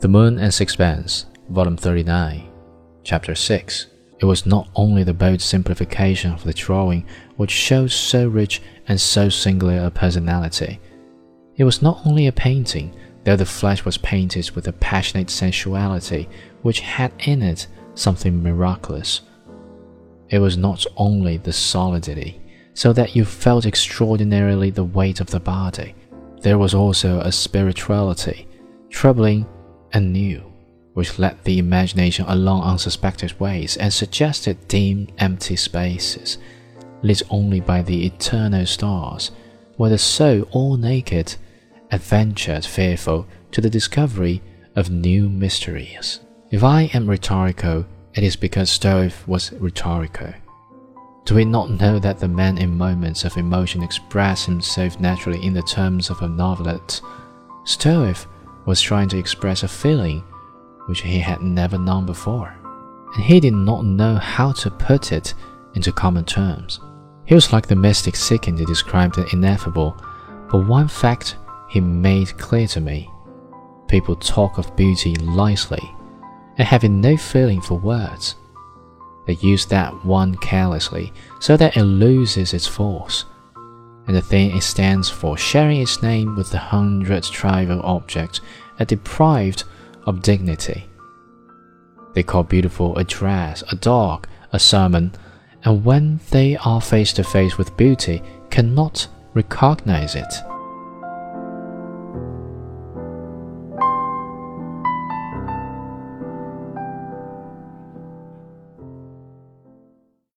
The Moon and Sixpence, Volume 39, Chapter 6. It was not only the bold simplification of the drawing which showed so rich and so singular a personality. It was not only a painting, though the flesh was painted with a passionate sensuality which had in it something miraculous. It was not only the solidity, so that you felt extraordinarily the weight of the body. There was also a spirituality, troubling and new, which led the imagination along unsuspected ways and suggested dim, empty spaces, lit only by the eternal stars, where the soul, all naked, adventured fearful to the discovery of new mysteries. If I am rhetorical, it is because Stroeve was rhetorical. Do we not know that the man in moments of emotion expressed himself naturally in the terms of a novelette? Stroeve was trying to express a feeling which he had never known before, and he did not know how to put it into common terms. He was like the mystic seeking to describe the ineffable, but one fact he made clear to me. People talk of beauty lightly, and having no feeling for words. They use that one carelessly, so that it loses its force, and the thing it stands for, sharing its name with the 100 trivial objects, are deprived of dignity. They call beautiful a dress, a dog, a sermon, and when they are face to face with beauty, cannot recognize it.